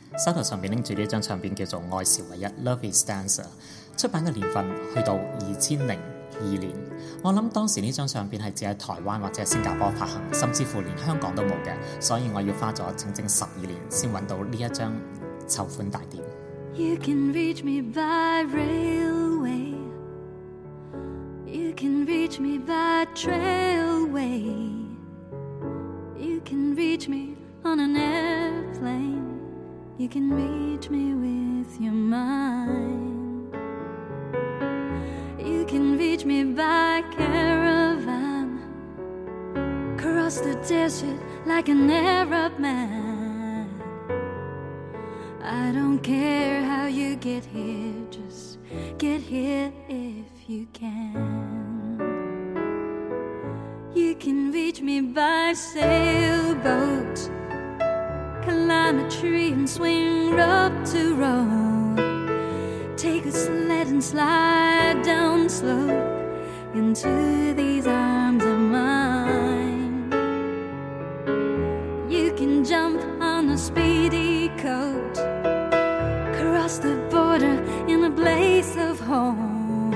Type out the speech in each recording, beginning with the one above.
手頭上面拎住呢張唱片叫做《愛是唯一 Love is Dancer》，出版嘅年份去到2002年。我諗當時呢張唱片係只喺台灣或者係新加坡發行，甚至乎連香港都冇嘅，所以我要花咗整整12年先揾到呢一張籌款大碟。 You can reach me by railway, you can reach me by trailway, you can reach me on an airplane, you can reach me with your mind, you can reach me by caravan, cross the desert like an Arab man. I don't care how you get here, just get here if you can. You can reach me by sailboat, climb a tree and swing rope to rope, take a sled and slide down slope into these arms of mine. You can jump on a speedy coat, cross the border in a blaze of home.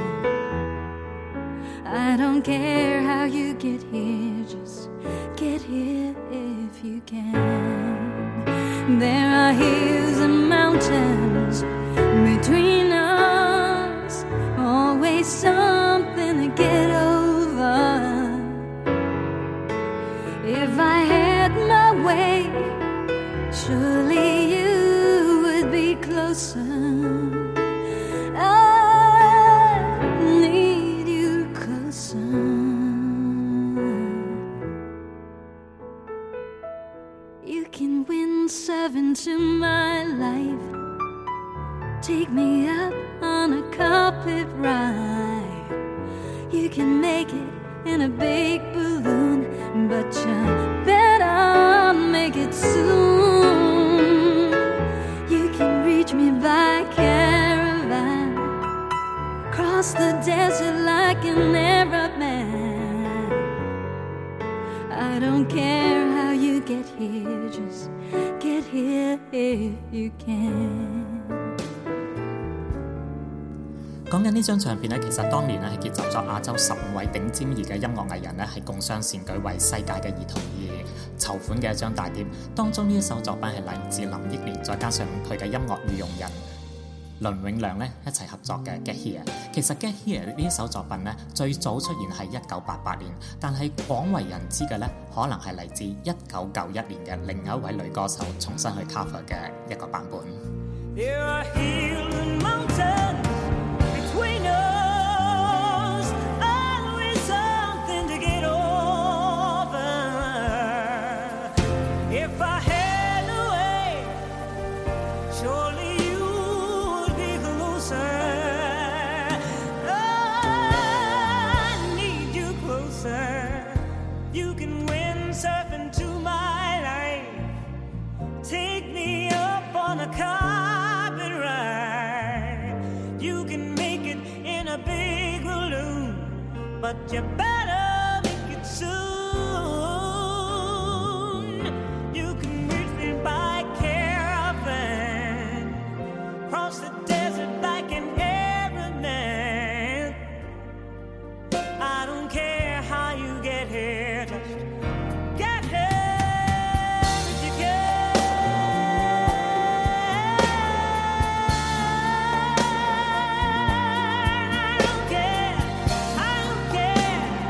I don't care how you get here, just get here if you can. There are hills and mountains between us, always something to get over. If I had my way, surely you would be closer. I need you closer. You can windsurf into my life, take me up on a carpet ride. You can make it in a big balloon, but you better make it soon. You can reach me by caravan, cross the desert like an Arab man. I don't care how you get here, just get here if you can. 講緊呢張唱片咧，其實當年咧係結集咗亞洲15位頂尖兒嘅音樂藝人咧，係共襄善舉為世界嘅兒童而籌款嘅一張大碟。當中呢一首作品係嚟自林憶蓮，再加上佢嘅音樂御用人倫永亮咧一齊合作嘅《Get Here》。其實《Get Here》呢一首作品咧，最早出現係1988年，但係廣為人知嘅咧，可能係嚟自1991年嘅另一位女歌手重新去 cover 嘅一個版本。 There are hills and mountains between us, always something to get over. If I had a way, surely you would be closer. I need you closer. You can windsurf into my life, take me up on a carpet ride. You can make it in a big balloon, but you better make it soon. You can reach me by caravan, cross the desert like an Arab man. I don't care how you get here, just get here if you can. I don't care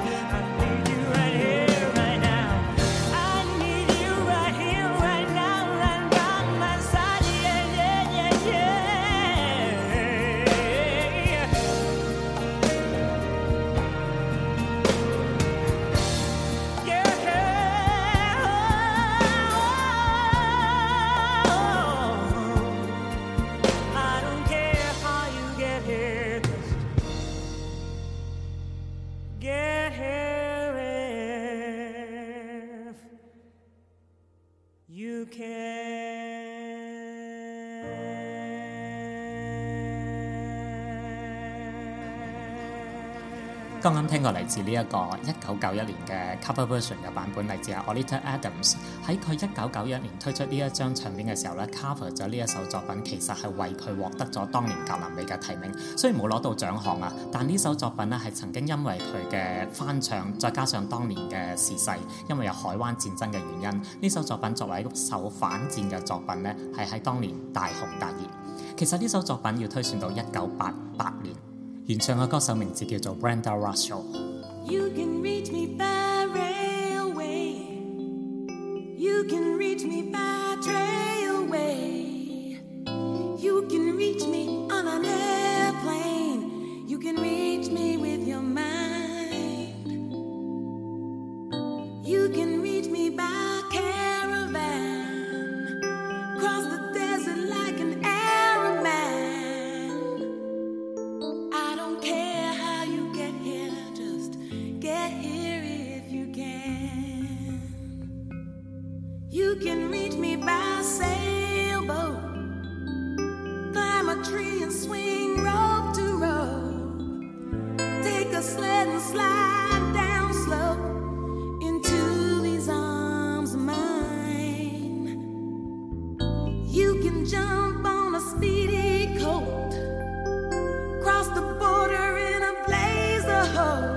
剛啱聽過嚟自呢一個1991年嘅 cover version 嘅版本，嚟自 Oleta Adams。喺佢1991年推出呢一張唱片嘅時候咧 cover 咗呢一首作品，其實係為佢獲得咗當年格林美嘅提名。雖然冇攞到獎項啊，但呢首作品咧係曾經因為佢嘅翻唱，再加上當年嘅時勢，因為有海灣戰爭嘅原因，呢首作品作為一首反戰嘅作品咧，係喺當年大紅大熱。其實呢首作品要推算到1988年。原唱嘅歌手名字叫做 Brenda Russell。You can reach me by railway, you can reach me by trailway, you can reach me on an airplane, you can reach me with your mind, you can reach me by caravan, cross the desert like an Arab man. I don't care how you get here, just get here if you can. You can reach me by sailboat, climb a tree and swing rope to rope, take a sled and slide down slope into these arms of mine. You can jump on a speedy coat, cross the border in a blaze of hope.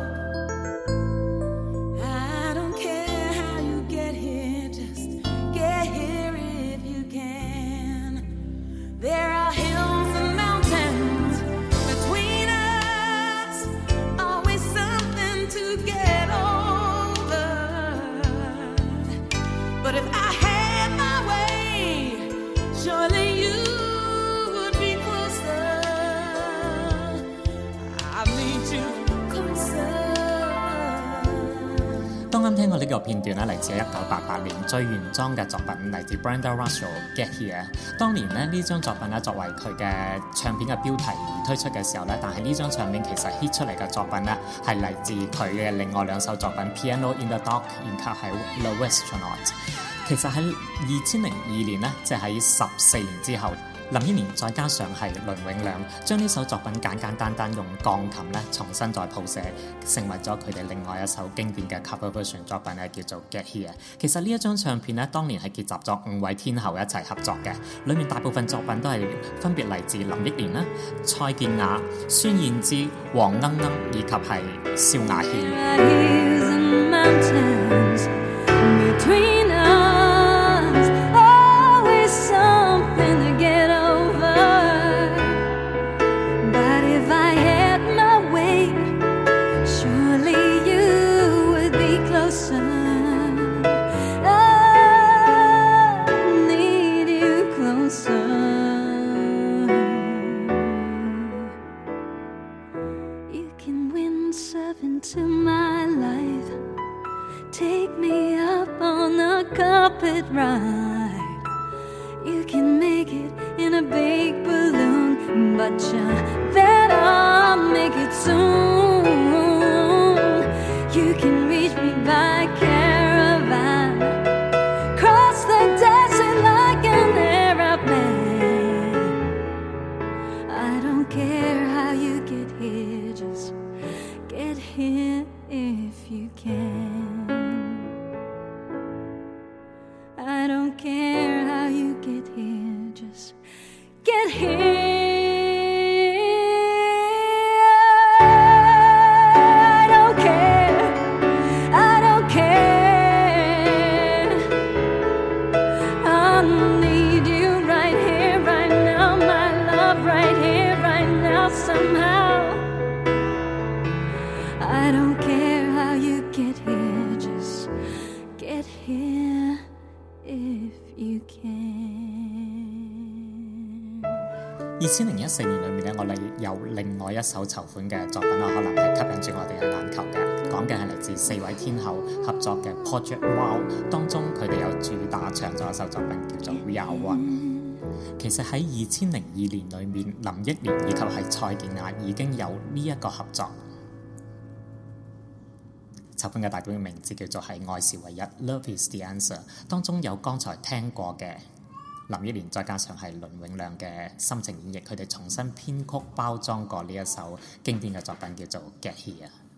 I don't care how you get here, just get here if you can. There are hills and mountains between us, always something to get over. But if I had my way, surely you would be closer. I need you closer. 當啱聽過呢個片段咧，嚟自1988年最原裝嘅作品，嚟自 Brenda Russell Get Here。當年咧呢張作品咧作為佢嘅唱片嘅標題而推出嘅時候咧，但係呢張唱片其實 hit 出嚟嘅作品咧係嚟自佢嘅另外兩首作品 Piano in the Dark 以及係 The Westronaut。其實喺2002年咧，即係喺14年之後，林憶蓮再加上係倫永亮，將呢首作品簡簡單單用鋼琴咧重新再譜寫，成為咗佢哋另外一首經典嘅 cover version 作品咧，叫做 Get Here。其實呢一張唱片咧，當年係結集咗5位天后一齊合作嘅，裡面大部分作品都係分別嚟自林憶蓮啦、蔡健雅、孫燕姿、黃鶯鶯以及係蕭亞軒。 Into my life, take me up on a carpet ride. You can make it in a big balloon, but you better make it soon. You can reach me by caravan, cross the desert like an Arab man. I don't care how you get here, just get here if you can. I don't care how you get here, just get here. I don't care, I don't care. I need you right here, right now, my love, right here, right now, somehow. I don't care how you get here, just get here if you can. 2014年裏面咧，我哋有另外一首籌款嘅作品啦，可能係吸引住我哋嘅眼球嘅。講嘅係嚟自4位天后合作嘅 Project Wow， 當中佢哋有主打唱咗一首作品叫做 We Are One。其實喺2002年裏面，林憶蓮以及係蔡健雅已經有呢一個合作。籌款嘅大本名字叫做係愛是唯一 Love is the answer， 當中有剛才聽過嘅林憶蓮，再加上係倫永亮嘅深情演繹，佢哋重新編曲包裝過呢一首經典嘅作品叫做 Get Here。